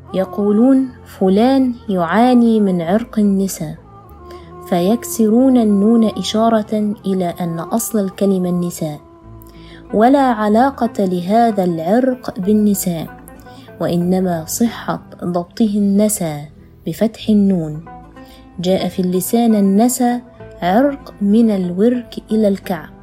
يقولون فلان يعاني من عرق النساء، فيكسرون النون إشارة إلى أن أصل الكلمة النساء، ولا علاقة لهذا العرق بالنساء، وإنما صحة ضبطه النسى بفتح النون. جاء في اللسان النسى عرق من الورك إلى الكعب،